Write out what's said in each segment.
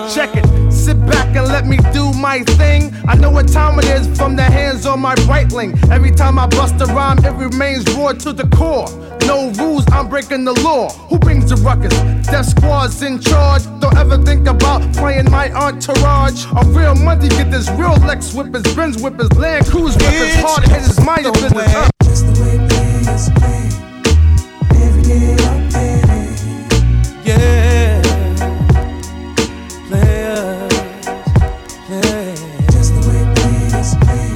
Check it, sit back and let me do my thing. I know what time it is from the hands on my Breitling. Every time I bust a rhyme, it remains raw to the core. No rules, I'm breaking the law. Who brings the ruckus? Death Squad's in charge. Don't ever think about playing my entourage. A real money get this real Lex whippers, Benz whippers, Land Cruise whippers, hard hitters, mind your business. Just the way players play. Every day I play. Yeah. Players play. Just the way players play.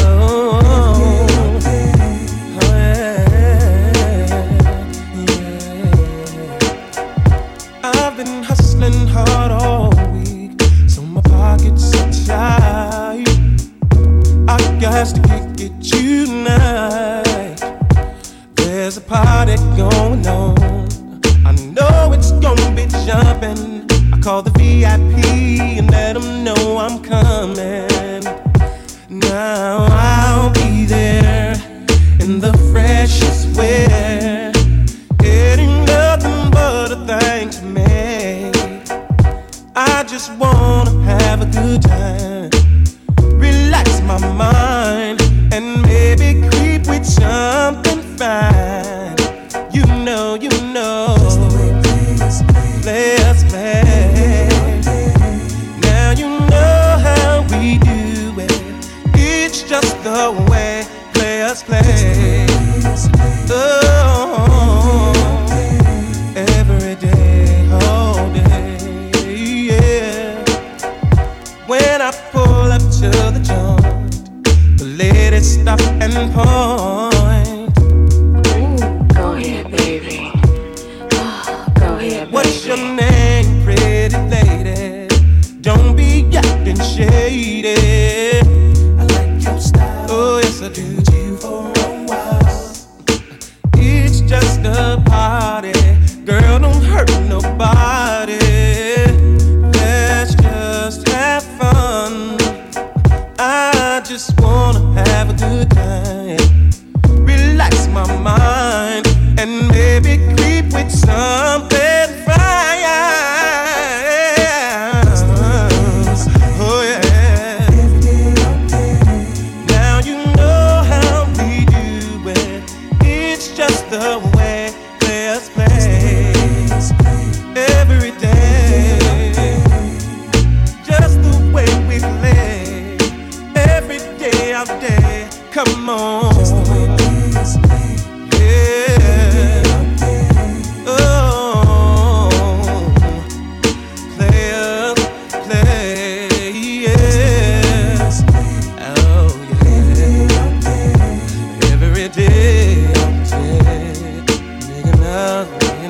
I've been hustling hard all week, so my pockets are tight. I got to kick it tonight. There's a party going on. I know it's gonna be jumping. I call the VIP and let them know I'm coming. Now I'll be there in the freshest wear, getting nothing but a thing to make. I just wanna have a good time, relax my mind, and maybe creep with something fine. You know, Just the way players play. players play. Now you know how we do it. It's just the way players play. Oh, every day, all day, yeah. When I pull up to the joint, the ladies stop and point. Ooh, go ahead, baby. Oh, go ahead, baby. What's your name, pretty lady? Don't be acting shady. I like your style. Oh, yes, I do. You for a while. It's just a party. Girl, don't hurt nobody. Let's just have fun. I just wanna have a good time, relax my mind, and maybe creep with something fine. Oh yeah. Every day I play. Now you know how we do it. It's just the way players play. Every day, just the way we play. Every day out there, come on. Yeah. Oh, players play. Yes. Oh yeah. Every day out there, nigga now.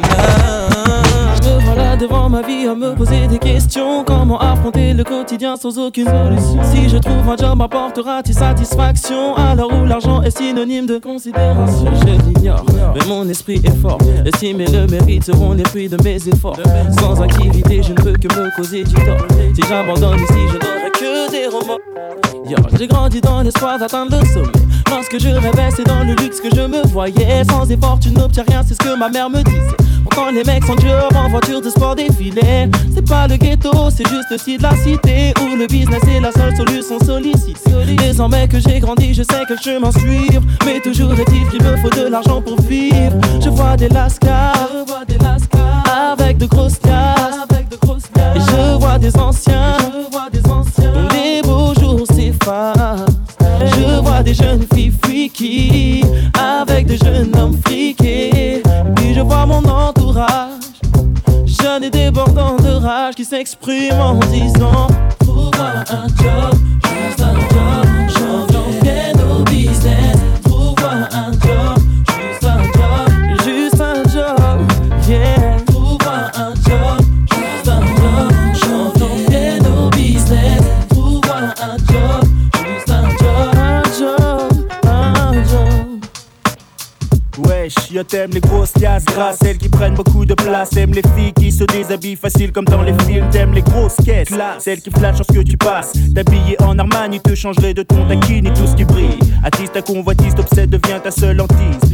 Me voilà devant ma vie à me poser des questions. Comment affronter le quotidien sans aucune solution? Si je trouve un job, m'apportera-t-il satisfaction? À l'heure où l'argent est synonyme de considération, je l'ignore, mais mon esprit est fort. L'estime et le mérite seront les fruits de mes efforts. Sans activité, je ne peux que me causer du tort. Si j'abandonne ici, je n'aurai que des remords. Yo, j'ai grandi dans l'espoir d'atteindre le sommet. Lorsque je rêvais, c'est dans le luxe que je me voyais. Sans effort, tu n'obtiens rien, c'est ce que ma mère me disait. Pourtant les mecs sont job en voiture de sport défilé. C'est pas le ghetto, c'est juste aussi de la cité où le business est la seule solution sollicite. Désormais que j'ai grandi, je sais quel chemin suivre. Mais toujours est-il qu'il me faut de l'argent pour vivre. Je vois des lascars avec de grosses tasses. Et je vois des anciens dont les beaux jours s'effacent. Je vois des jeunes filles freaky avec des jeunes hommes friqués. Puis je vois mon entourage jeune et débordant de rage qui s'exprime en disant: trouve-moi un job, juste un job, changeons bien nos business. Trouve-moi un job, juste un job, yeah. Trouve-moi un job, juste un job, changeons bien nos business. Trouve-moi un job, juste un job, un job. Wesh, yo t'aimes les grosses liasses grasses, celles qui prennent beaucoup de place. T'aimes les filles qui se déshabillent facile comme dans les films. T'aimes les grosses caisses, celles qui flattent lorsque tu passes. T'habiller en Armani te changerait de ton taquini tout ce qui brille. Attise ta convoitise, t'obsède, devient ta seule hantise. Telle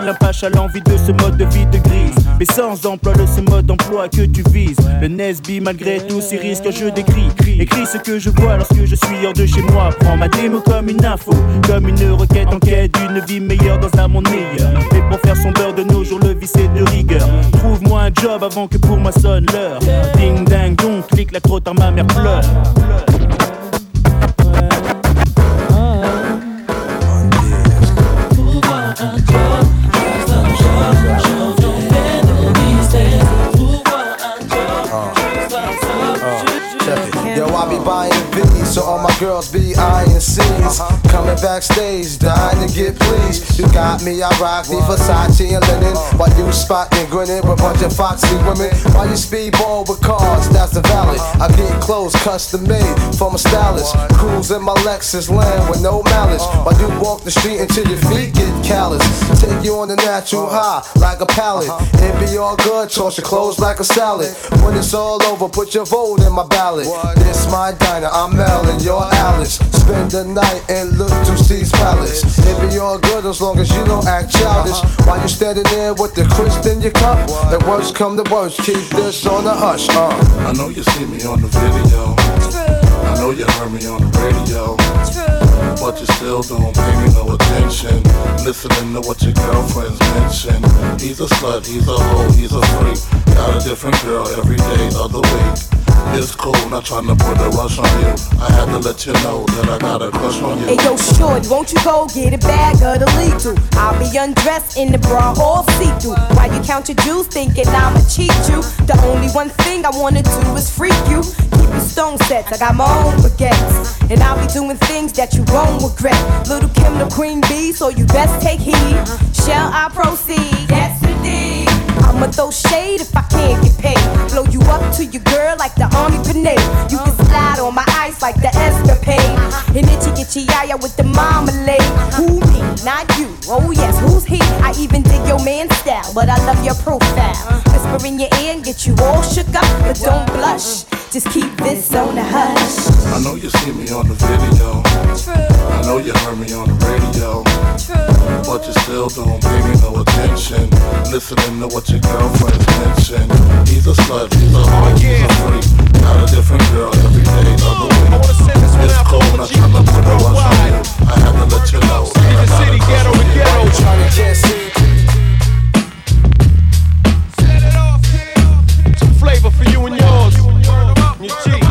Alain Pache a l'envie de ce mode de vie de grise. Mais sans emploi de ce mode d'emploi que tu vises. Le Nesby malgré tous ces risques je décris. Écris ce que je vois lorsque je suis hors de chez moi. Prends ma démo comme une info, comme une requête en quête d'une vie meilleure dans un monde meilleur. Et pour faire son beurre de nos jours le vice est de rigueur. Trouve-moi un job avant que pour moi sonne l'heure. Ding ding dong, clique la trop tard ma mère pleure. Yo, I be buying V's, so all my girls be eyeing C's. Coming backstage, dying to get pleased. You got me, I rock the Versace and linen. While you spotting, grinning with a bunch of foxy women. While you speedball with cars, that's the valid. I get clothes custom made from a stylist. Cruise in my Lexus land with no malice. While you walk the street until your feet get callous. Take you on the natural high like a pallet. It be all good, toss your clothes like a salad. When it's all over, put your vote in my ballot. This my diner, I'm Mel and you're Alice. Spend the night and look to Steve's Palace. It be all good as long as you don't act childish. While you standing there with the crisp in your cup. The worst come to worst, keep this on the hush. I know you see me on the video. I know you heard me on the radio. But you still don't pay me no attention. Listening to what your girlfriends mention. He's a slut, he's a hoe, he's a freak. Got a different girl every day of the week. It's cool, not trying to put a rush on you. I had to let you know that I got a crush on you. Hey yo, shorty, won't you go get a bag of the lethal? I'll be undressed in the bra all see-through. While you count your jewels, thinking I'ma cheat you. The only one thing I wanna do is freak you. Keep your stone sets, I got my own baguettes. And I'll be doing things that you won't regret. Little Kim the queen bee, so you best take heed. Shall I proceed? Yes indeed. I'ma throw shade if I can't get paid. Blow you up to your girl like the army grenade. You can slide on my ice like the escapade. And itchy yaya with the marmalade. Who me? Not you. Oh yes, who's he? I even dig your man's style, but I love your profile. Whisper in your ear and get you all shook up, but don't blush. Just keep this on the hush. I know you see me on the video. I know you heard me on the radio. But you still don't pay me no attention. Listening to what your girlfriends mention. He's a slut, he's a hoe, he's a freak. Got a different girl every day of the week. It's cool, not trying to put a rush on you. I had to let you know that I got a crush on you. Trying to get see. Set it off, kid. Some flavor for you and yours. Your G.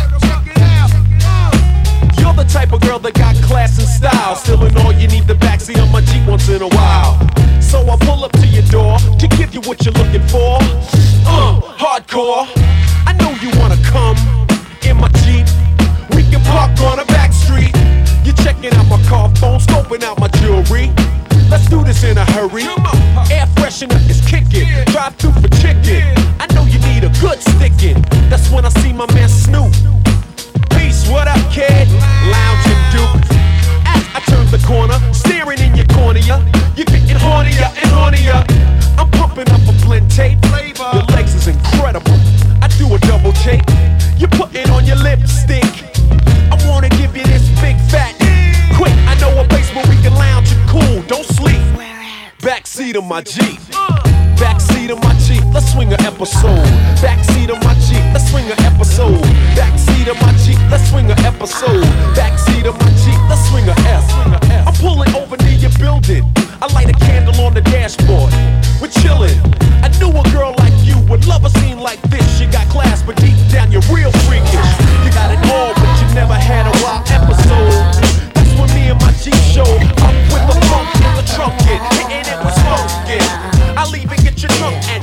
You're the type of girl that got class and style. Still in all, you need the backseat of my Jeep once in a while. So I pull up to your door to give you what you're looking for. Hardcore. I know you wanna come in my Jeep. We can park on a back street. You're checking out my car phone, scoping out my jewelry. Let's do this in a hurry. Air freshener is kicking. Drive through for chicken. I know you need a good sticking. That's when I see my man Snoop. Peace, what up, kid? Lounging Duke. As I turn the corner, staring in your cornea. You're getting hornier and hornier. I'm pumping up a blend tape. Your legs is incredible. I do a double take. You put it on your lipstick. I wanna give you this big fat. Quick, I know a place where we can lounge and cool. Don't sleep. Backseat of my Jeep. Backseat of my Jeep, let's swing an episode. Backseat of my Jeep, let's swing an episode. Backseat of my Jeep, let's swing an episode. Backseat of my Jeep, let's swing a F. I'm pulling over near your building. I light a candle on the dashboard. We're chilling. I knew a girl like you would love a scene like this. You got class, but deep down you're real freakish. You got it all, but you never had a wild episode. That's when me and my Jeep showed up with the funk in the trunk, hitting it with smoking. I'll even get your drunk and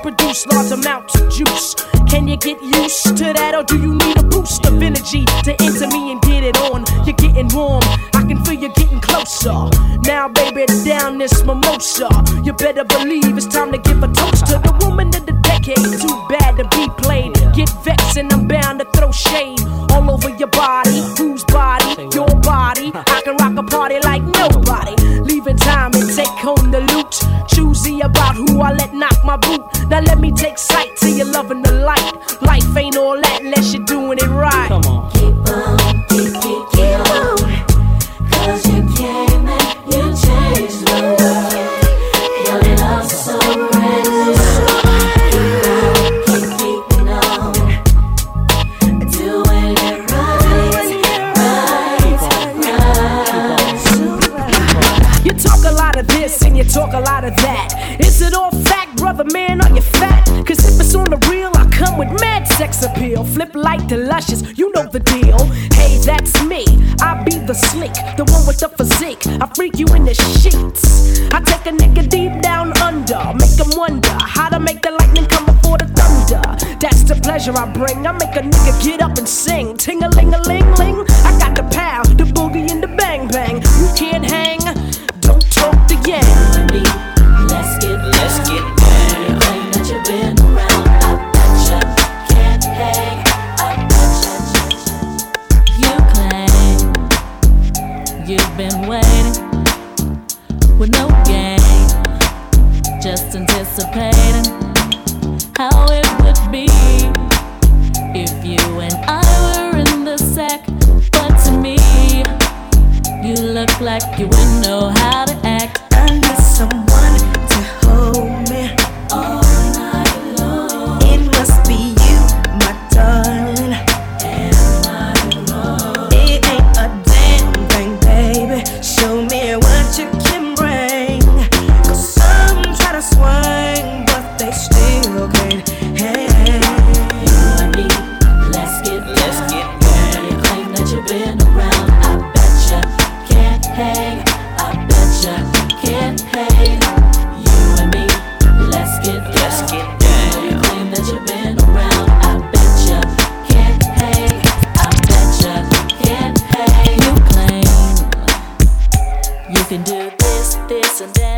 produce large amounts of juice. Can you get used to that, or do you need a boost of energy to enter me and get it on? You're getting warm, I can feel you getting closer. Now, baby, down this mimosa. You better believe it's time to give a toast to the woman of the decade. Too bad to be played. Get vexed and I'm bound to throw shade all over your body. Whose body? Your body. I can rock a party like nobody. Leaving time and take home the loot. Choosy about who I let knock my boot. Now let me take sight till you're loving the light. Life ain't all that unless you're doing it right. Come on. Keep on, keep on. Cause you came and you changed the world. Your love so brand keep keeping on. Doing it right. You talk a lot of this and you talk a lot of that. Is it all fact, brother man, or you fat? Cause if it's on the real, I come with mad sex appeal. Flip like the luscious, you know the deal. Hey, that's me, I be the slick, the one with the physique. I freak you in the sheets. I take a nigga deep down under, make him wonder how to make the lightning come before the thunder. That's the pleasure I bring, I make a nigga get up and sing. Ting-a-ling-a-ling-ling, I got the pow, the boogie and the bang-bang. You can't hang, don't talk the yang. Let's get anything that you've been around. I betcha can't hang. I betcha. You claim you've been waiting with no game, just anticipating how it would be if you and I were in the sack. But to me, you look like you wouldn't know how to act. I need someone to hold me all night long. It must be you, my darling. Am I wrong? It ain't a damn thing, baby. Show me what you can bring. Cause some try to swing, but they still can't hang. You and me, let's get anything that you've been around. I betcha can't hang. I betcha can't hang. You and me, let's get anything that you've been around. I betcha can't hang. I betcha can't hang. You claim you can do this and that.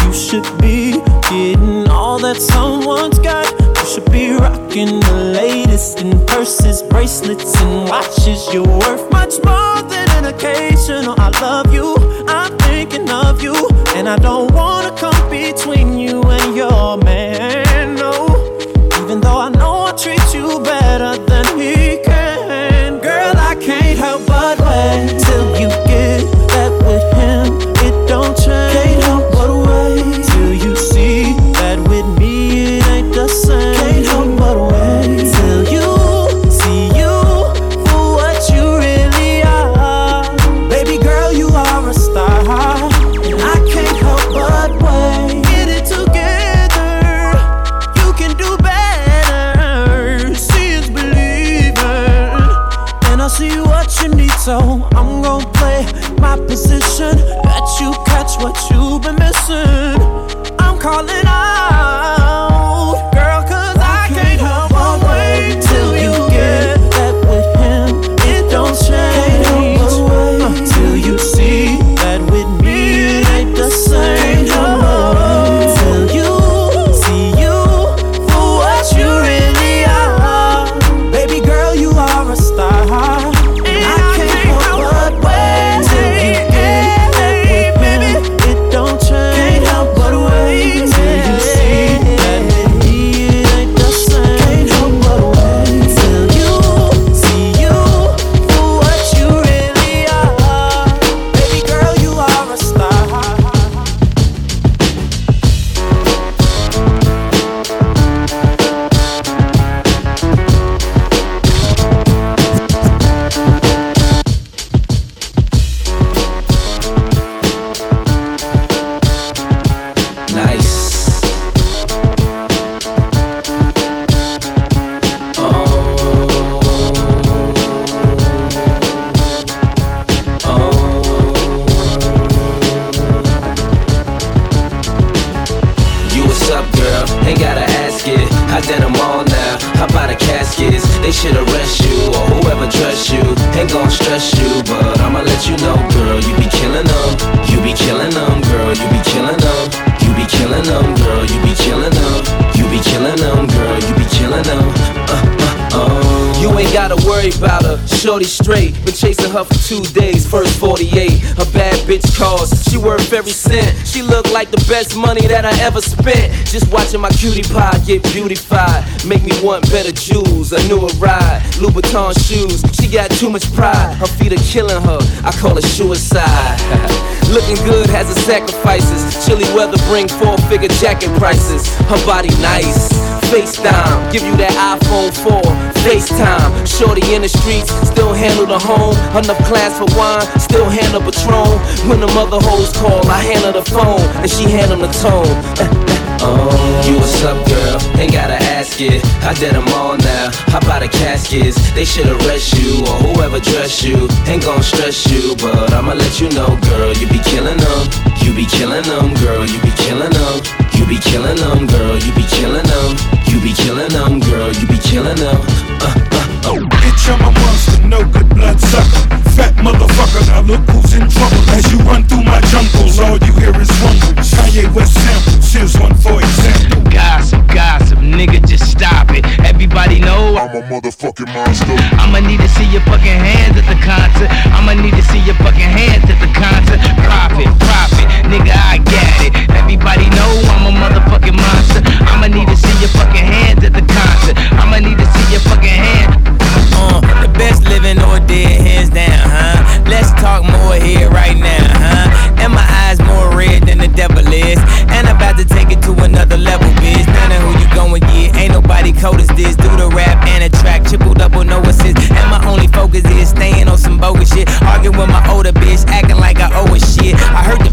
You should be getting all that someone's got. You should be rocking the latest in purses, bracelets, and watches. You're worth much more than an occasional I love you. I'm thinking of you, and I don't wanna come between you and your man, no. Even though I know I treat you better than he can. Girl, I can't help but wait till you get that with him. It don't change. Can't help but wait till you see that with me it ain't the same. Can't help but wait till you see you for what you really are. Baby girl, you are a star, and I can't help but wait. Get it together, you can do better. See is believing, and I see what you need, so I'm gon' play my position. Bet you catch what you've been missing. I'm calling out, girl, 'cause I can't help but wait till you get that with him. It don't change till you see that with me it ain't the same. Till you see you for what you really are. Baby girl, you are a star, and I can't help but wait till you get that with me. It don't change. Can't help but wait till you see that with me it ain't the same. Can't help but wait till you see you for what you really are. Baby girl, you are a star. Nice. You what's up, girl? Ain't gotta ask it. I did them all now. How about the caskets? They should arrest you or whoever trusts you. Ain't gon' stress you, but I'ma let you know, girl. You be killing them. You be killing them, girl. You be killing them. You be killing them, girl. You be killing them. You be killing them, girl. You be killing them. You ain't gotta worry about her, shorty straight. Been chasing her for 2 days, first 48. A bad bitch calls, she worth every cent. She look like the best money that I ever spent. Just watching my cutie pie get beautified. Make me want better jewels, a newer ride. Louboutin shoes, she got too much pride. Her feet are killing her, I call it suicide. Looking good has its sacrifices. Chilly weather bring 4-figure jacket prices. Her body nice, FaceTime, give you that iPhone 4, FaceTime. Shorty in the streets, still handle the home. Enough class for wine, still handle Patron. When the mother hoes call, I handle the phone, and she handle the tone. You what's up, girl? Ain't gotta ask it. I did them all now. How about the caskets? They should arrest you or whoever dressed you. Ain't gon' stress you, but I'ma let you know, girl. You be killing them. You be killing them, girl. You be killing them. You be killing them, girl. You be killing them. You be killing them, girl. You be killing them. Bitch, I'm a monster, no good blood sucker. Fat motherfucker, now look who's in trouble. As you run through my jungles, all you hear is rumbles. Kanye West samples, here's one for example. Gossip, nigga, just stop it. Everybody know I'm a motherfucking monster. I'ma need to see your fucking hands at the concert. I'ma need to see your fucking hands at the concert. Profit, nigga, I got it. Everybody know I'm a motherfucking monster. I'ma need to see your fucking hands at the concert. I'ma need to see your fucking hands. The best living or dead, hands down, huh? Let's talk more here right now, huh? And my eyes more red than the devil is. And I'm about to take it to another level, bitch. None of who you gon' get, ain't nobody cold as this. Do the rap and a track, triple double, no assist. And my only focus is staying on some bogus shit. Arguing with my older bitch, acting like I owe a shit. I heard the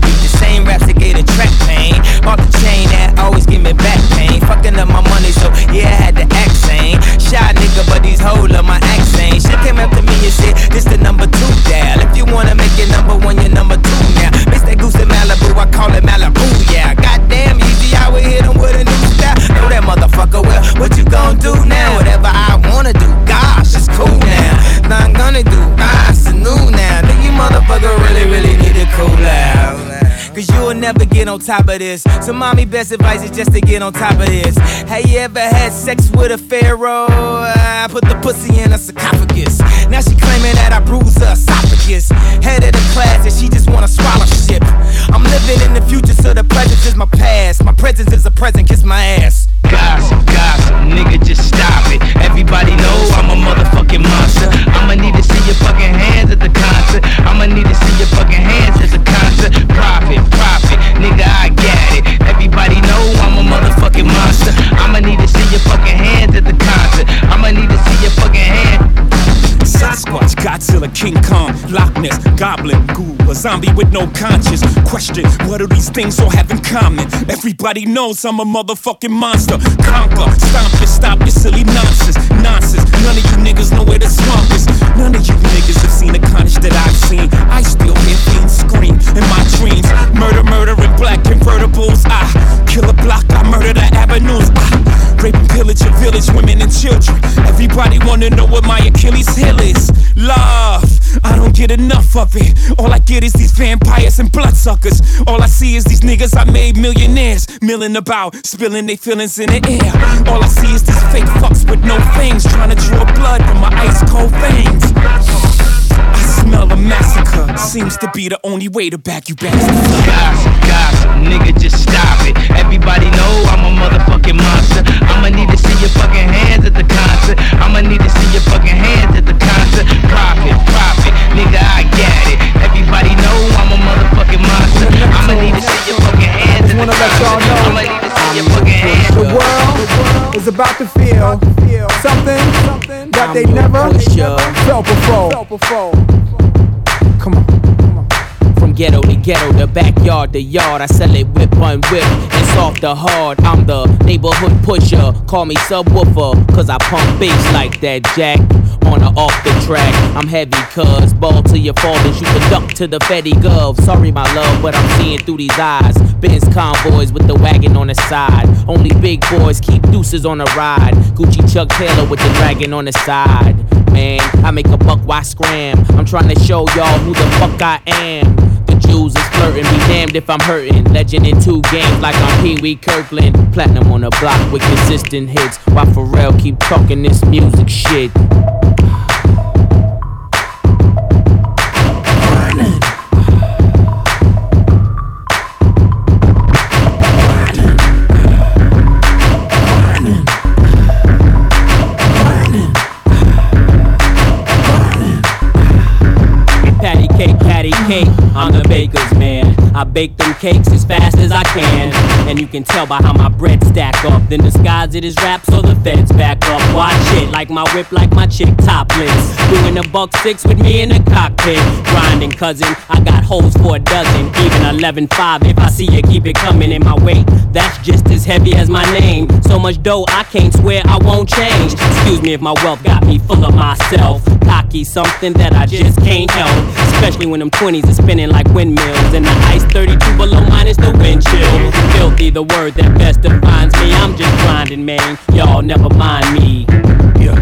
top of this. So mommy, best advice is just to get on top of this. Have you ever had sex with a pharaoh? I put the pussy in a sarcophagus. Now she claiming that I bruised her esophagus. Head of the class and she just wanna swallow shit. I'm living in the future, so the present is my past. My presence is a present, kiss my ass. Gossip, gossip, nigga, just stop it. Everybody know I'm a motherfucking monster. I'ma need to see your fucking hands at the concert. I'ma need to see your fucking hands at the concert. Profit, profit, nigga, I got it. Everybody know I'm a motherfucking monster. I'ma need to see your fucking hands at the concert. I'ma need to see your fucking hands. Sasquatch, Godzilla, King Kong, Loch Ness, Goblin, Ghoul, a zombie with no conscience. Question, what do these things all have in common? Everybody knows I'm a motherfucking monster. Conquer, stomp you, stop your silly nonsense. Nonsense, none of you niggas know where the swamp is. None of you niggas have seen the carnage that I've seen. I still hear fiends scream in my dreams. Murder, murder in black convertibles. I kill a block, I murder the avenues. I rape and pillage your village, women and children. Everybody wanna know what my Achilles heel is. Love, I don't get enough of it. All I get is these vampires and bloodsuckers. All I see is these niggas I made millionaires, milling about, spilling their feelings in the air. All I see is these fake fucks with no fangs, trying to draw blood from my ice cold veins. I smell a massacre, seems to be the only way to back you bastards. Gossip, gossip, nigga, just stop it. Everybody know I'm a motherfucking monster. I'ma need to see your fucking hands at the concert. I'ma need to see your fucking hands at the concert. Profit, profit, nigga, I got it. Everybody know I'm a motherfucking monster. I'ma need to see your fucking hands at the concert. I'ma need to see your fucking hands. The world is about to feel something that they never felt before. Come on. From ghetto to ghetto, the backyard to yard, I sell it whip on whip, and soft to hard. I'm the neighborhood pusher, call me subwoofer, cause I pump bass like that, Jack. On or off the track, I'm heavy cuz ball till you fall and shoot the duck to the Fetty Gov. Sorry my love, but I'm seeing through these eyes. Benz convoys with the wagon on the side. Only big boys keep deuces on the ride. Gucci Chuck Taylor with the dragon on the side. Man, I make a buck, why scram? I'm trying to show y'all who the fuck I am. The Jews is flirting, be damned if I'm hurting. Legend in 2 games like I'm Pee Wee Kirkland. Platinum on the block with consistent hits, while Pharrell keep talking this music shit. Cake, I'm the baker's man. I bake them cakes as fast as I can, and you can tell by how my bread stack up. Then disguise it as rap so the feds back up. Watch it, like my whip, like my chick topless. Doing a $1.6 with me in the cockpit. Grinding, cousin, I got holes for a dozen. Even 11.5, if I see you keep it coming in my way, that's just as heavy as my name. So much dough, I can't swear I won't change. Excuse me if my wealth got me full of myself. Cocky, something that I just can't help. Especially when them 20s are spinning like windmills, and the ice 32 below minus the wind chill. Filthy, the word that best defines me. I'm just grinding, man. Y'all never mind me. Yeah.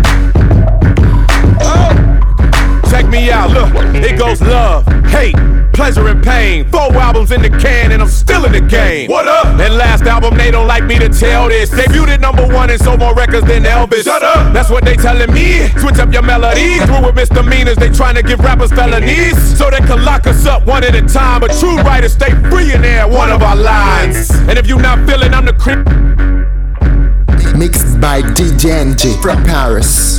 Check me out, look, it goes love, hate, pleasure and pain. 4 albums in the can and I'm still in the game. What up? That last album, they don't like me to tell this. Debuted at #1 and sold more records than Elvis. Shut up! That's what they telling me. Switch up your melody. Through with misdemeanors, they trying to give rappers felonies, so they can lock us up one at a time. But true writers stay free in there, one of our lines. And if you not feeling, I'm the creep. Mixed by DJ NG from Paris.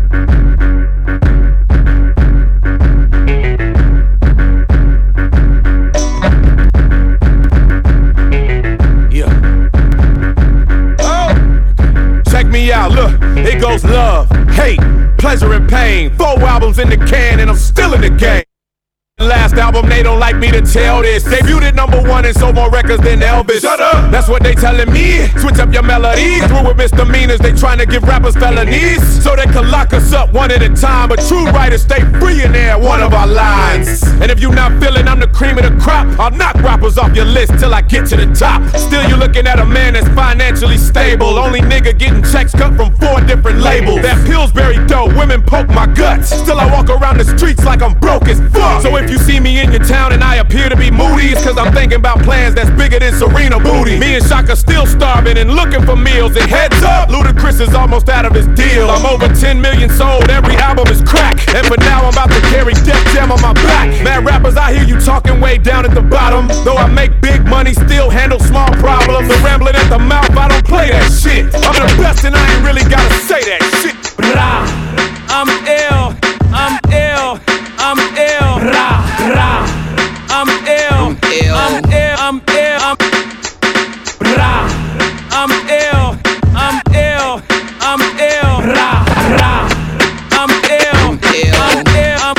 Out, look, it goes love, hate, pleasure and pain. 4 albums in the can and I'm still in the game. Last album, they don't like me to tell this. Debuted at #1 and sold more records than Elvis. Shut up! That's what they telling me. Switch up your melody. Through with misdemeanors, they trying to give rappers felonies, so they can lock us up one at a time. But true writers stay free in there, one of our lines. And if you not feeling I'm the cream of the crop, I'll knock rappers off your list till I get to the top. Still you looking at a man that's financially stable. Only nigga getting checks cut from 4 different labels. That Pillsbury dough, women poke my guts. Still I walk around the streets like I'm broke as fuck. So if you see me in your town and I appear to be moody, it's cause I'm thinking about plans that's bigger than Serena Booty. Me and Shaka still starving and looking for meals. And heads up, Ludacris is almost out of his deal. I'm over 10 million sold, every album is crack. And for now I'm about to carry Def Jam on my back. Mad rappers, I hear you talking way down at the bottom. Though I make big money, still handle small problems. And rambling at the mouth, I don't play that shit. I'm the best and I ain't really gotta say that shit. Blah. I'm ill, I'm ill, I'm ill. Rah, rah. I'm ill, I'm ill, I'm ill, I'm rah. I'm ill, I'm ill, I'm ill. Rah, rah. I'm ill, I'm ill, I'm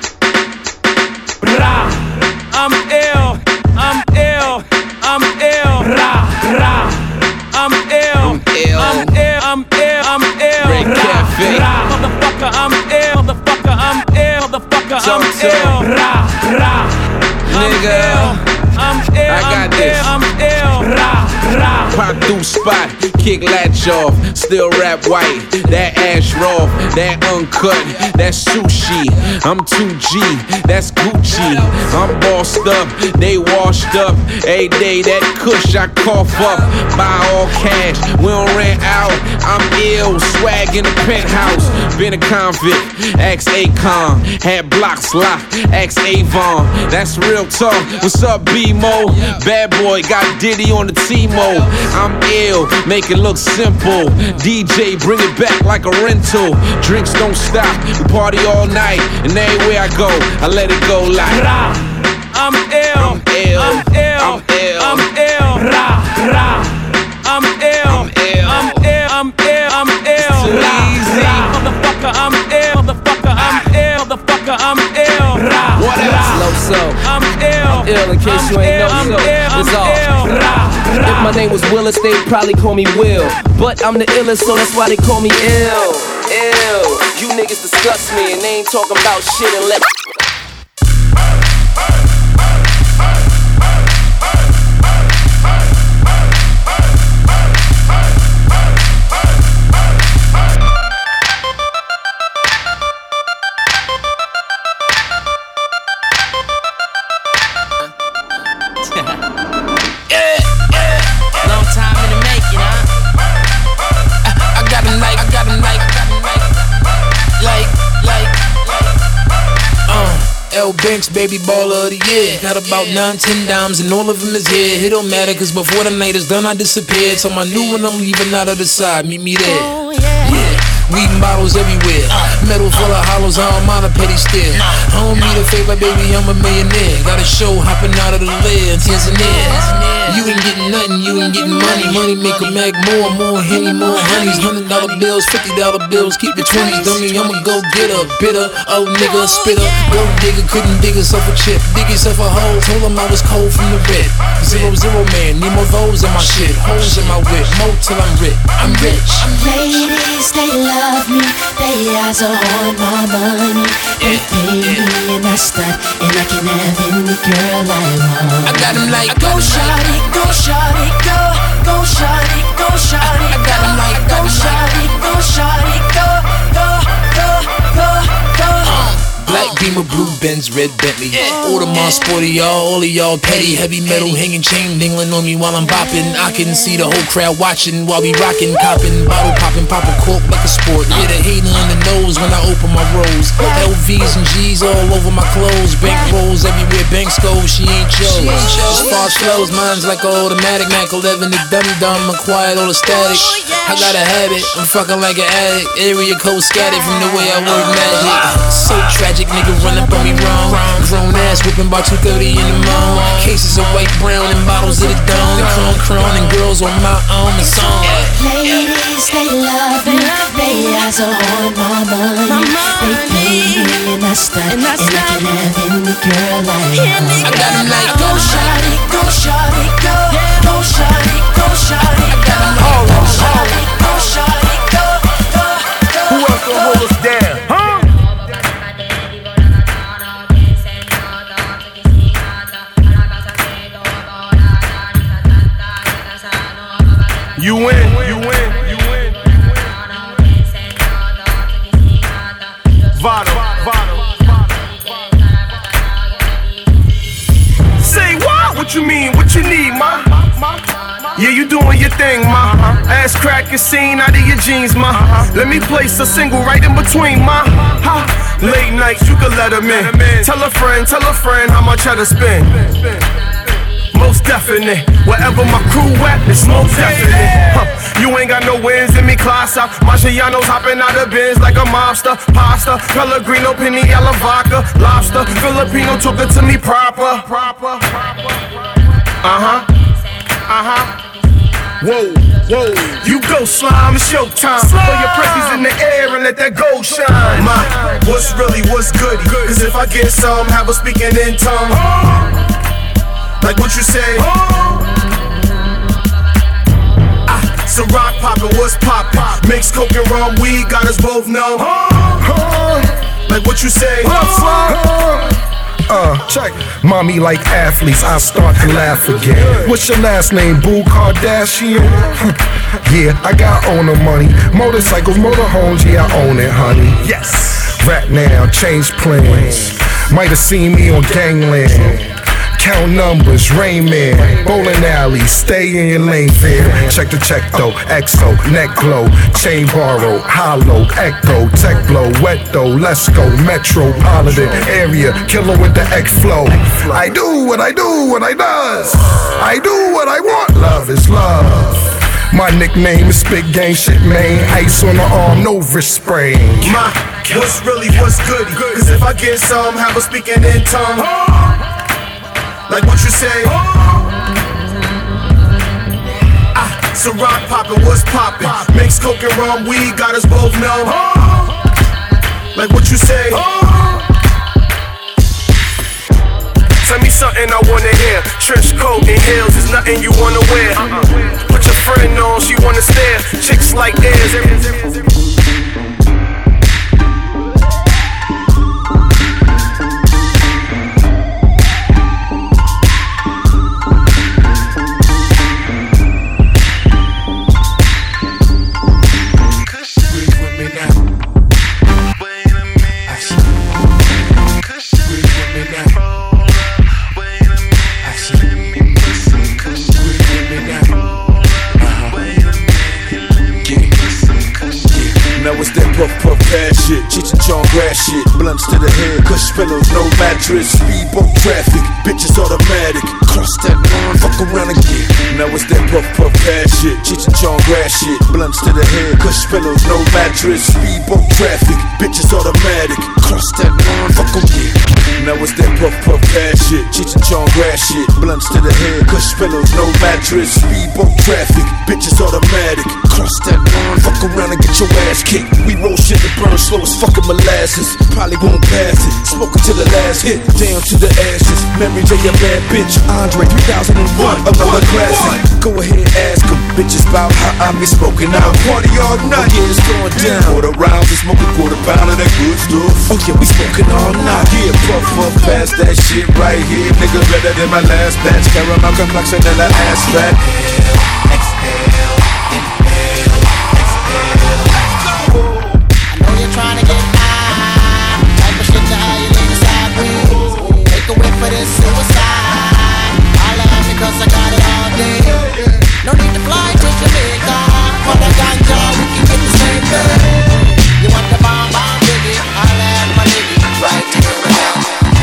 rah. I'm ill, I'm ill, I'm ill. Rah, rah. I'm ill, I'm ill, I'm ill, I'm ill. Rah, motherfucker, I'm ill, motherfucker, I'm ill, motherfucker, I'm ill. Rah, rah. Nigga, I'm ill, I got this. I'm ill, rah, rah. Pop through spot, kick latch off, still rap white. That ash raw, that uncut, that's sushi. I'm 2G, that's Gucci. I'm bossed up, they washed up. Every day that kush I cough up. Buy all cash, we don't rent out. I'm ill, swag in the penthouse. Been a convict, ex Akon. Had blocks locked, ex Avon. That's real talk. What's up, B-Mo? Bad boy got Diddy on the T-Mo. I'm ill, make it look simple. DJ, bring it back like a rental. Drinks don't stop, we party all night. And everywhere I go, I let it go like I'm ill, I'm ill, I'm ill, I'm ill. Rah, rah. I'm ill, I'm ill, I'm ill, I'm ill, I'm ill. Too easy. Motherfucker, I'm ill, motherfucker, I'm ill, motherfucker, I'm ill. Rah, what else? Low so I'm ill, in case you ain't know so. It's all. If my name was Willis, they'd probably call me Will. But I'm the illest, so that's why they call me ill. Ill. You niggas disgust me and they ain't talking about shit unless. L Banks, baby baller of the year. Got about 9-10 dimes and all of them is here. It don't matter cause before the night is done I disappeared. So my new one I'm leaving out of the side, meet me there. Yeah. Weed bottles everywhere. Metal full of hollows, I don't mind a petty stare. I don't need a favor, baby, I'm a millionaire. Got a show hopping out of the lid, Tanzania. You ain't getting nothing, you ain't getting money. Money make a mag more Henny, more honeys. $100 bills, $50 bills, keep the 20s. Dummy, I'ma go get a bitter, old nigga, spitter. Gold digger, couldn't dig herself a chip. Dig yourself a hole, told him I was cold from the rip. 0-0 man, need more those in my shit. Holes in my whip, more till I'm rich. I'm rich. Ladies, they love me, they eyes are on my money. They pay me and I stunt, and I can have any girl I want. I got him like, go shawty, go shawty, go, go shawty, go shawty, I got him like, go shawty, go shawty, go, go, go, go, go. Black Beamer, blue Benz, red Bentley. Audemars, sporty, all of y'all petty. Heavy metal hanging chain dingling on me while I'm bopping. I can see the whole crowd watching while we rocking, copping, bottle popping, pop a cork like a sport. Yeah, the hater in the nose when I open my rolls. LVs and G's all over my clothes. Bank rolls everywhere, banks go, she ain't yours. As far as flows, mine's like an automatic. Mac 11, the dumb, acquired all the static. I got a habit, I'm fucking like an addict. Area code scattered from the way I work magic. So tragic, nigga run up on me wrong. Grown ass whipping by 2:30 in the morning. Cases of white, brown, and bottles of the dawn. Crown and girls on my own song. Ladies, they love me, they eyes are on my money. They pay me and I stunt, and I can have any girl I want. I got him like, go shawty, go shawty, go, go shawty, go shawty, go, go shawty, go shawty, go, go, go. Who else gonna hold us down? Huh? You win, you win, you win. Vado. Yeah, you doing your thing, ma. Ass crack is seen out of your jeans, ma. Let me place a single right in between, ma. Late nights, you can let them in. Tell a friend how much I to spend. Most definite, wherever my crew at, it's most definite. You ain't got no wins in me, class out. Marciano's hopping out of bins like a mobster. Pasta, Pellegrino, Piniella, vodka, lobster. Filipino took it to me proper. Whoa, whoa, you go slime, it's showtime. Throw your presses in the air and let that gold shine. My, what's goody? Cause if I get some, have a speaking in tongue. Like what you say? Some rock poppin', what's poppin'? Mix coke and rum, weed, got us both numb. Like what you say? Check. Mommy like athletes, I start to laugh again. What's your last name, Boo Kardashian? Yeah, I got owner money. Motorcycles, motorhomes, yeah, I own it, honey. Yes. Rap now, change plans. Might have seen me on Gangland. Count numbers, Rain Man, bowling alley, stay in your lane fair. Check the check though, XO, neck glow, chain borrow, hollow, echo, tech blow, wet though, let's go, metropolitan area, killer with the X flow. I do what I do, what I does. I do what I want, love is love. My nickname is Spit Gang Shit, man. Ice on the arm, no wrist sprain. My, what's goody? Cause if I get some, have a speaking in tongue. Like what you say? Some rock poppin', what's poppin'? Mix coke and rum, weed, got us both numb. Like what you say? Tell me something I wanna hear. Trench coat and heels is nothing you wanna wear. Put your friend on, she wanna stare. Chicks like theirs. Puff cash shit, Cheech and Chong grass shit, blunts to the head, cush pillows, no mattress, speedboat traffic, bitches automatic, cross that line, fuck around again. Now it's that puff cash shit, Cheech and Chong grass shit, blunts to the head, cush pillows, no mattress, speedboat traffic, bitches automatic, cross that line, fuck again. Now it's that puff cash shit, Cheech and Chong grass shit, blunts to the head, cush pillows, no mattress, speedboat traffic, bitches automatic, cross that line, fuck around and get your ass kicked. We roll shit that burn slow as fucking molasses. Probably won't pass it. Smoking to the last hit, down to the ashes. Memory J, a bad bitch. Andre 3001, another classic. Go ahead, ask them bitches about how I be smoking out. Party all night, yeah, it's going down. Quarter rounds and smoke a quarter pound of that good stuff. Oh yeah, we smoking all night. Yeah, puff past that shit right here. Nigga better than my last batch. Caramel complexion and the ass fat. Trying to get high, type of shit to how you lean sideways. Take a whiff for this suicide. I laugh because I got it all day. No need to fly to Jamaica. For the ganja, we can get the same thing. You want the bomb, baby? I laugh, my nigga, right to the back.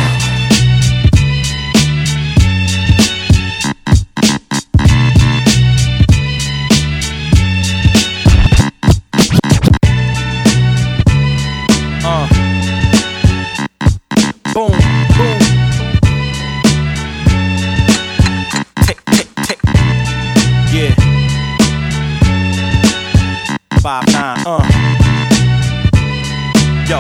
Boom, boom. Tick, tick, tick. Yeah. 5-9, Yo.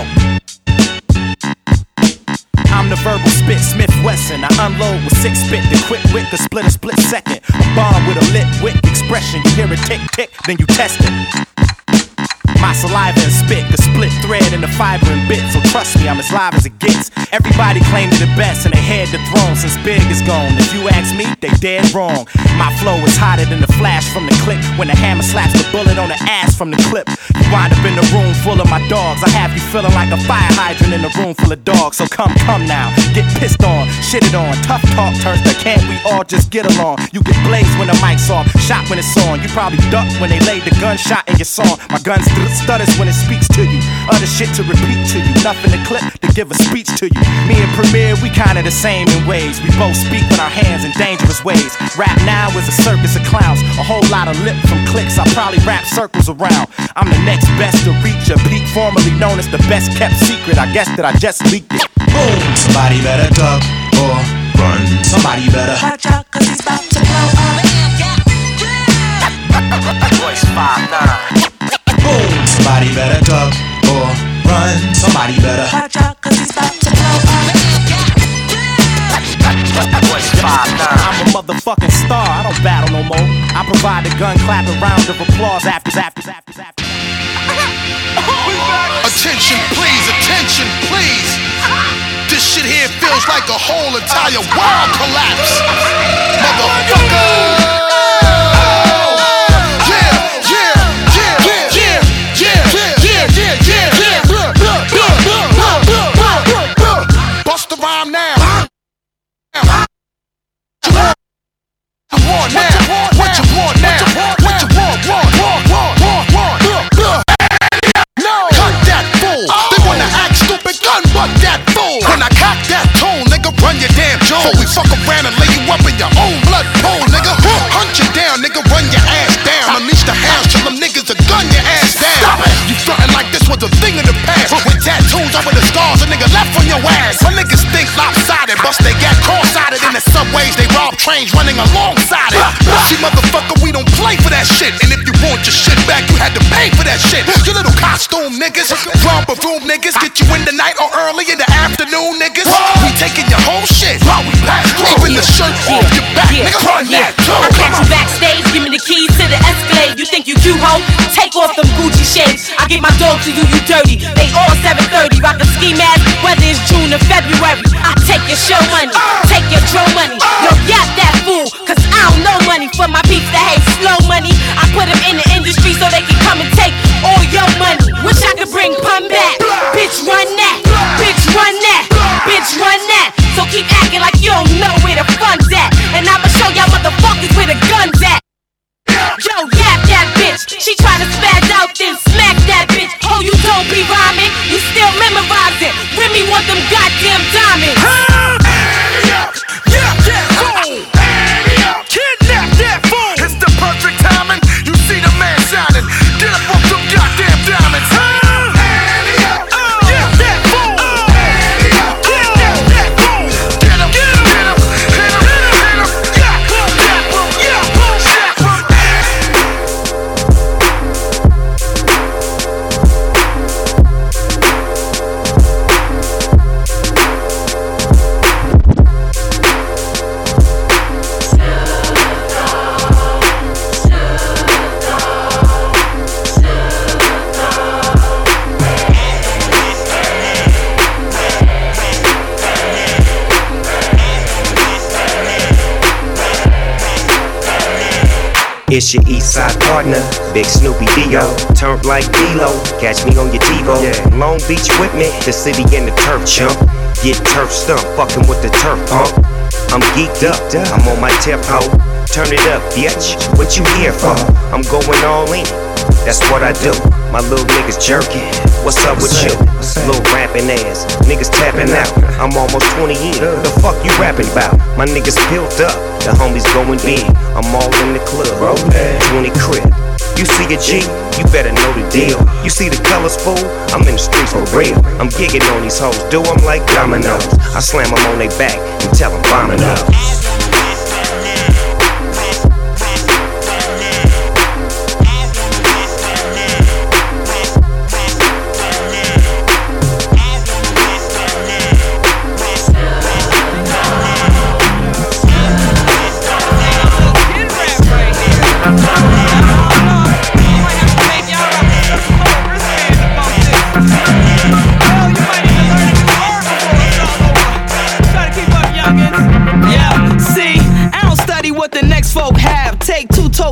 I'm the verbal spit, Smith Wesson. I unload with 6 spit, the quick wit could split a split second. A bomb with a lit wick expression. You hear it tick, tick, then you test it. My saliva and spit could split thread into fiber and bits. So trust me, I'm as live as it gets. Everybody claimed the best and they had the throne since Big is gone. If you ask me, they dead wrong. My flow is hotter than the flash from the clip when the hammer slaps the bullet on the ass from the clip. You wind up in the room full of my dogs. I have you feeling like a fire hydrant in a room full of dogs. So come now, get pissed on, shitted on. Tough talk turns to can't we all just get along? You get blazed when the mic's off, shot when it's on. You probably duck when they laid the gunshot in your song. My gun stutters when it speaks to you. Other shit to repeat to you. Nothing to clip to give a speech to you. Me and Premier, we kinda the same in ways. We both speak with our hands in dangerous ways. Rap now is a circus of clowns. A whole lot of lip from clicks. I probably wrap circles around. I'm the next best to reach a peak, formerly known as the best kept secret. I guess that I just leaked it. Boom! Somebody better duck or run. Somebody better watch out, cause it's about to blow up. Voice 5'9". Boom! Somebody better duck or run. Somebody better watch out, cause it's about to blow up. Voice 5'9". I'm a motherfucking star, I don't battle no more. I provide the gun clapping round of applause after. Attention please. This shit here feels like a whole entire world collapse. Motherfucker. Bust the rhyme now. What you want now? No, cut that fool. They wanna act stupid, gun butt that fool. When I cock that tone, nigga, run your damn jaw. We fuck around and lay you up in your own blood pool, nigga. Hunt you down, nigga, run your ass down. Unleash the hounds, tell them niggas to gun your ass down. You frontin' like this was a thing in the past. With tattoos over the scars, a nigga left on your ass. Some niggas think lopsided, bust they got cross-sided in the subways. They rob trains running alongside it. See, motherfucker, we don't play for that shit. And if you want your shit back, you had to pay for that shit. You little costume niggas, romper room niggas, get you in the night or early in the afternoon niggas. We taking your whole shit while we pass through. Even the shirt off your back, nigga, run that too. I catch you backstage, give me the keys to the Escalade. You think you cute, ho? Take off them Gucci shades. I get my dog to you, you dirty. They all 730, rock a ski mask, whether it's June or February. I take your show money, take your drum money. No, yap that fool, cause I don't know money for my peeps that hate slow money. I put them in the industry so they can come and take all your money. Wish I could bring pun back. Bitch, run that. Bitch, run that. Bitch, run that. So keep acting like you don't know where the fun's at. And I'ma show y'all motherfuckers where the gun's at. Yo, yap that bitch. She tryna spaz out, then smack that bitch. Oh, you don't be rhyming, you still memorizing. Remy want them goddamn diamonds. Kidnap that fool. It's the perfect timing. You see the man shining. Get up off them goddamn diamonds. It's your east side partner, Big Snoopy Dio. Turned like D-Lo, catch me on your TiVo. Long Beach with me, the city and the turf chump. Get turf stumped, fucking with the turf pump. I'm geeked up, I'm on my tip hoe. Turn it up, bitch, what you here for? I'm going all in, that's what I do. My little niggas jerking, what's up with you? Little rapping ass, niggas tapping out. I'm almost 20 in, the fuck you rapping about? My niggas built up, the homies going big. I'm all in the club, 20 crib. You see a G, you better know the deal. You see the colors, fool? I'm in the streets for real. I'm gigging on these hoes, do them like dominoes. I slam them on their back and tell them vomit up.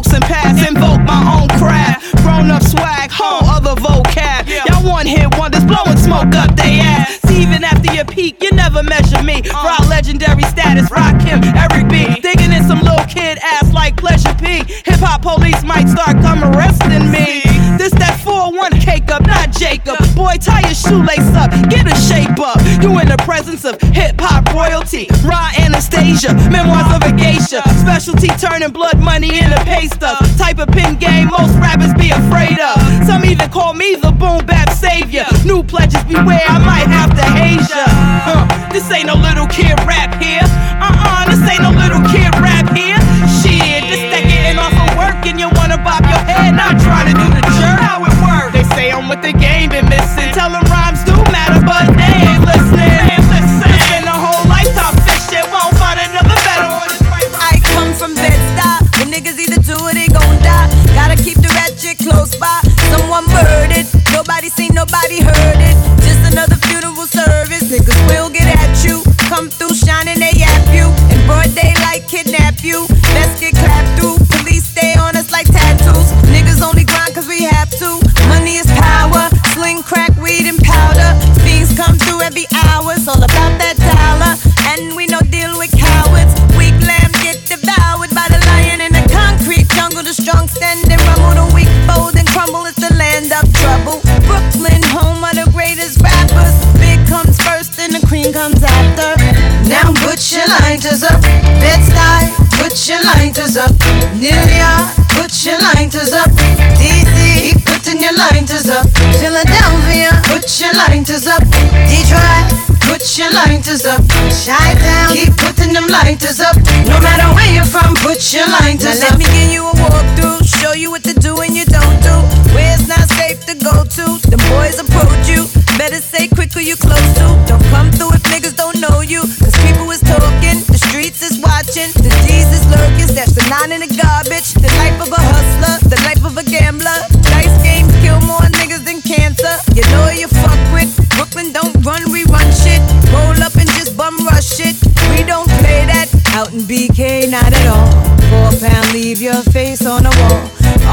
and pass, invoke my own craft. Grown up swag, whole other vocab. Y'all one hit wonders, blowing smoke up they ass. See, even after your peak, you never measure me. Raw legendary status, rock him, Eric B. Digging in some little kid ass like Pleasure P. Hip hop police might start coming arresting me. This that 4-1 cake up, not Jacob. Boy, tie your shoelace up, get a shape up. You in the presence of hip hop royalty. Raw Anastasia, memoirs of a geisha. Specialty turning blood money into pay stuff. Type of pin game most rappers be afraid of. Some even call me the boom bap savior. New pledges beware, I might have to haze ya. This ain't no little kid rap here. This ain't no little kid rap here. Shit, this that getting off of work and you wanna bop your head, not trying to do the jerk. How it work? They say I'm with the game been missing. Tell them rhymes do matter, but they ain't listening. It's been a whole lifetime fishing, won't find another better one. I come from Bed-Stuy, when niggas either do or they gon' die. Gotta keep the ratchet close by. Someone murdered, nobody seen, nobody heard it. Just another funeral service. Niggas will get at you. Come through shining, they yap you. In broad daylight, kidnap you. Let's get clapped through. Police stay on us like tattoos. Niggas only grind cause we have to. Money is power. Sling, crack, weed, and powder. Fiends come through every hour. It's all about that dollar. And we no deal with cowards. Weak lambs get devoured by the lion in the concrete jungle. The strong stand and rumble. The weak fold and crumble. It's the land of trouble. Brooklyn, home of the greatest rappers. Big comes first and the cream comes after. Now put your lighters up. Bed-Stuy, put your lighters up. New York, put your lighters up. DC, keep putting your lighters up. Philadelphia, put your lighters up. Detroit, put your lighters up. Chi-Town, keep putting them lighters up. No matter where you're from, put your lighters up. Now let me give you a walkthrough, show you what to do and you don't do. Where it's not safe to go to, the boys approach you. Better say quick who you close to. Don't come through if niggas don't know you. Cause people is talking, the streets is watching. The D's is lurking, stash the 9 in the garbage. The life of a hustler, the life of a gambler. Dice games kill more niggas than cancer. You know who you fuck with. Brooklyn don't run, we run shit. Roll up and just bum rush it. We don't play that. Out in BK, not at all. 4 pound, leave your face on the wall.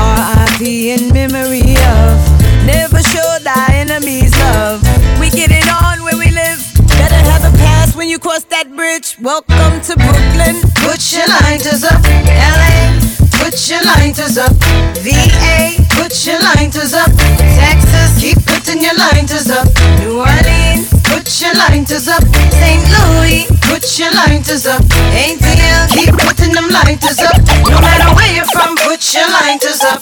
R.I.P. in memory of. Never show thy enemies love. We get it on where we live. Better have a pass when you cross that bridge. Welcome to Brooklyn. Put your lighters up. LA, put your lighters up. VA, put your lighters up. Texas, keep putting your lighters up. New Orleans, put your lighters up. St. Louis, put your lighters up. ATL, keep putting them lighters up. No matter where you're from, put your lighters up.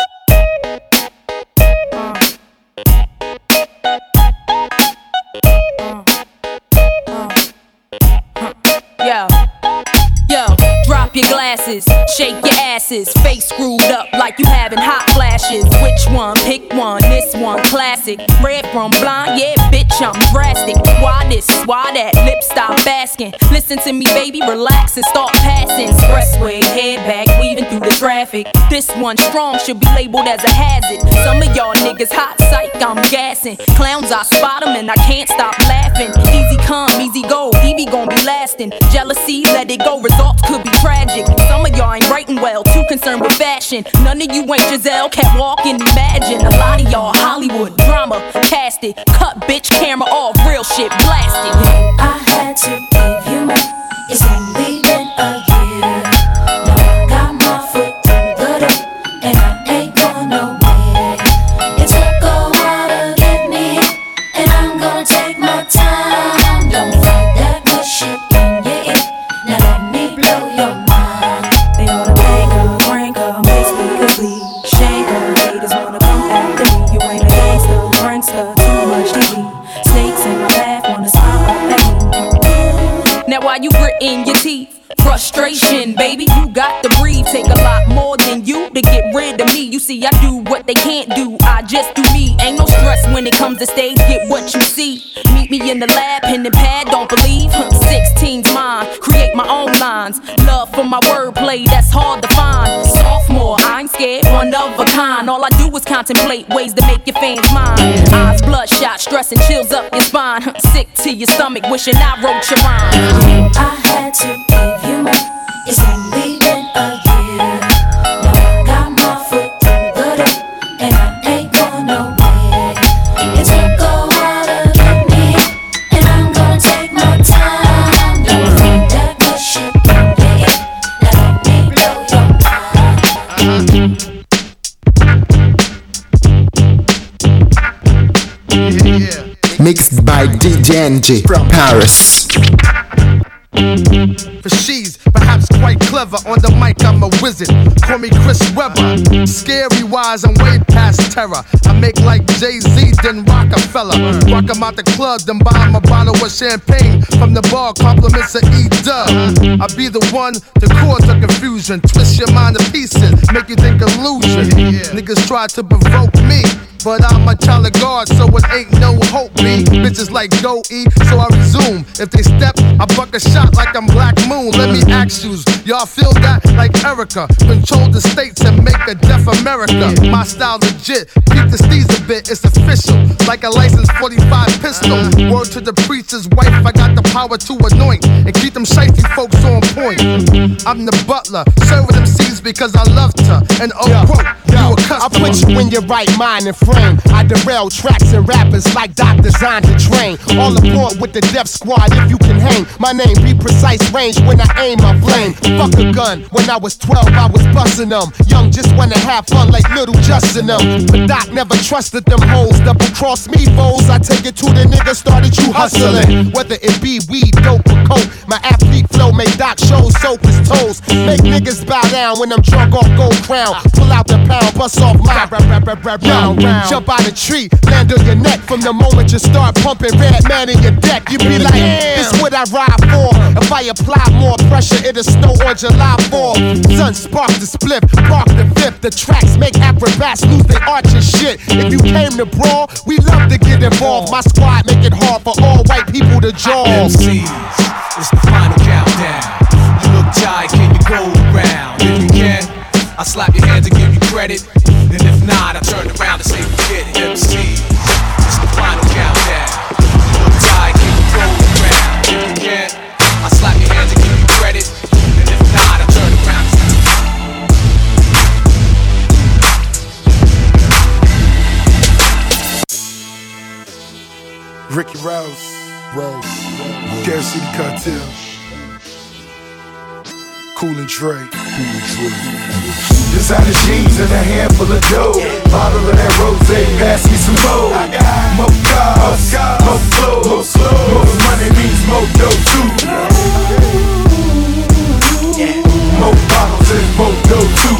Yo, drop your glasses, shake your asses, face screwed up like you having hot flashes. Which one? Pick one, this one classic. Red from blind, yeah, bitch, I'm drastic. Why this, why that, lip stop asking. Listen to me, baby, relax and start passing. Expressway, head back, weaving through the traffic. This one strong should be labeled as a hazard. Some of y'all niggas hot psych, I'm gassing. Clowns, I spot them and I can't stop laughing. Easy come, easy go, Evie gon' be lasting. Jealousy, let it go, results could be tragic. Some of y'all ain't writing well, too concerned with fashion. None of you ain't Giselle, can't walk and imagine. A lot of y'all Hollywood drama, cast it. Cut bitch, camera off, real shit, blast it. I had to give you more. It's only been a year. Now I got my foot through the door, and I ain't going nowhere. It took a while to get me here, and I'm gonna take my time. Don't fight that good shit in your ear. Now let me blow your mind. They ought to make her, rank her, make speakers bleed. Shake her, haters wanna come after me. You ain't a gangster, prankster, too much TV. Snakes in my path, wanna smile up at me. Now while you gritting your teeth, frustration, baby, you got to breathe. Take a lot more than you to get rid of me. You see, I do what they can't do, I just do me. Ain't no stress when it comes to stage, get what you see. Meet me in the lab, pen and pad, don't believe. 16's mine, create my own lines. Love for my wordplay, that's hard to find. Sophomore, I ain't scared, one of a kind. All I do is contemplate ways to make your fans mine. Eyes bloodshot, stress and chills up your spine. Sick to your stomach, wishing I wrote your rhyme. I had to give you more. It's only been a year. Now I Mixed by DJ NG from Paris. For she's perhaps quite clever. On the mic, I'm a wizard. Call me Chris Webber. Scary wise, I'm way past terror. I make like Jay-Z, then Rockefeller. Rock 'em out the club, then buy 'em a bottle of champagne. From the bar, compliments of E-Dub. I be the one to cause the confusion. Twist your mind to pieces, make you think illusion. Niggas try to provoke me, but I'm a child of God, so it ain't no hope, me. Bitches like go eat, so I resume. If they step, I buck a shot like I'm Black Moon. Let me ask you, y'all feel that like Erica? Control the states and make a deaf America. My style legit, keep the steez a bit, it's official. Like a licensed 45 pistol. Word to the preacher's wife, I got the power to anoint and keep them shiesty folks on point. I'm the butler, serving them seeds because I loved her. And quote, you a customer. I put you in your right mind and frame. I derail tracks and rappers like doctors designed to train. All aboard with the Def Squad if you can hang. My name be precise range when I aim my flame. Fuck a gun, when I was 12 I was busting them. Young just wanna have fun like little Justin them. But Doc never trusted them hoes. Double cross me foes, I take it to the nigga started you hustling. Whether it be weed, dope or coke, my athlete flow make Doc shows soap his toes. Make niggas bow down when I'm drunk off gold crown. Pull out the pound, bust off my round. Jump out a tree, land on your neck. From the moment you start pumping Red Man in your deck, you be like, this what I ride for. If I apply more pressure, it'll snow on July 4th. Sun spark the split, park the fifth. The tracks make acrobats lose their arch and shit. If you came to brawl, we love to get involved. My squad make it hard for all white people to jaw. MCs, it's the final countdown. You look tired, can you go around? If you can, I'll slap your hands and give you credit. And if not, I turn around and say forget it. MCs, it's the final countdown. You look tired, can you go around? If you can, I'll slap your hands and give you credit. And if not, I turn around and say Ricky Rouse, Gas City Cartel, Cool and Dre. Designer jeans and a handful of dough. Bottle of that rosé, pass me some more. More cars, more clothes, more money means more dough too. More bottles and more dough too.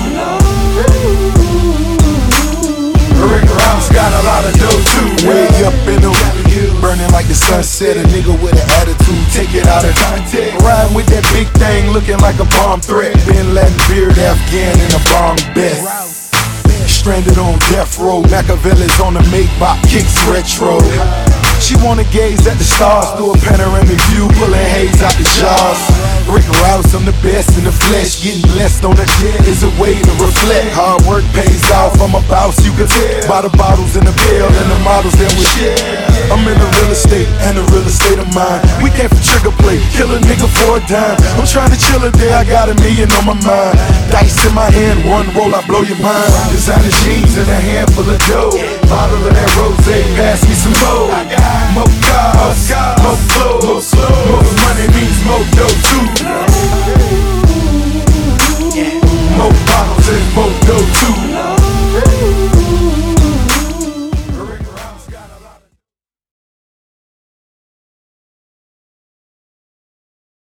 Rick Rouse got a lot of dough too. Way up in the burning like the sunset. A nigga with an attitude, take it out of context. Riding with that big thing, looking like a bomb threat. Bin Laden beard, Afghan in a bomb best. Stranded on death row, Machiavelli's on the Maybach, kicks retro. She wanna gaze at the stars through a panoramic view, pulling haze out the jars. Rick Rouse, I'm the best in the flesh. Getting blessed on the jet is a way to reflect. Hard work pays off, I'm a boss, you can tell by the bottles in the bill and the models that we share. I'm in the real estate and the real estate of mine. We came for trigger play, kill a nigga for a dime. I'm trying to chill a day, I got $1 million on my mind. Dice in my hand, one roll, I blow your mind. Designer jeans and a handful of dough. Bottle of that rosé, pass me some more. More